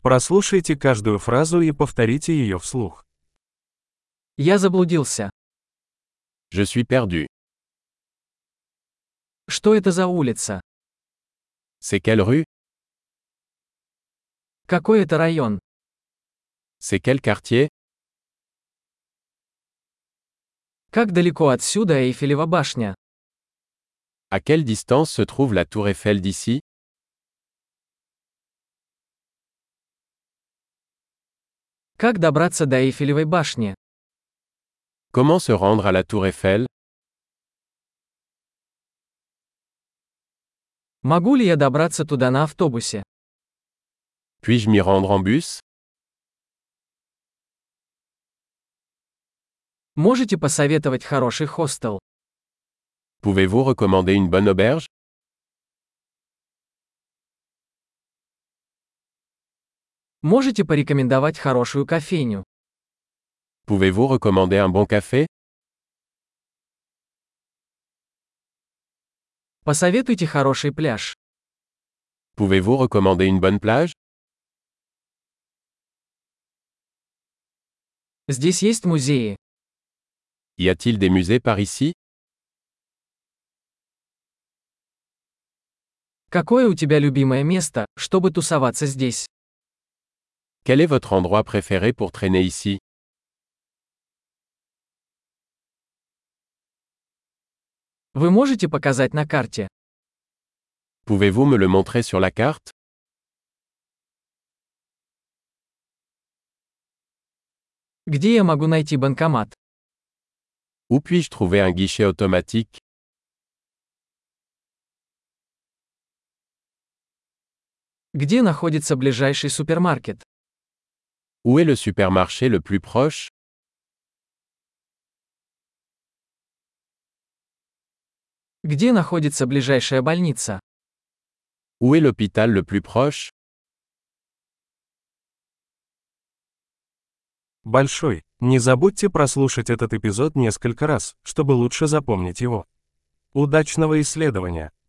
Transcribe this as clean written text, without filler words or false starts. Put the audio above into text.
Прослушайте каждую фразу и повторите ее вслух. Я заблудился. Je suis perdu. Что это за улица? C'est quelle rue? Какой это район? C'est quel quartier? Как далеко отсюда Эйфелева башня? À quelle distance se trouve la tour Eiffel d'ici? Как добраться до Эйфелевой башни? Comment se rendre à la tour Eiffel? Могу ли я добраться туда на автобусе? Puis-je m'y rendre en bus? Можете посоветовать хороший хостел? Pouvez-vous recommander une bonne auberge? Можете порекомендовать хорошую кофейню? Pouvez-vous recommander un bon café? Посоветуйте хороший пляж. Pouvez-vous recommander une bonne plage? Здесь есть музеи. Y a-t-il des musées par ici? Какое у тебя любимое место, чтобы тусоваться здесь? Quel est votre endroit préféré pour traîner ici? Вы можете показать на карте? Pouvez-vous me le montrer sur la carte? Где я могу найти банкомат? Où puis-je trouver un guichet automatique? Где находится ближайший супермаркет? Où est le supermarché le plus proche? Где находится ближайшая больница? Où est l'hôpital le plus proche? Большой. Не забудьте прослушать этот эпизод несколько раз, чтобы лучше запомнить его. Удачного исследования!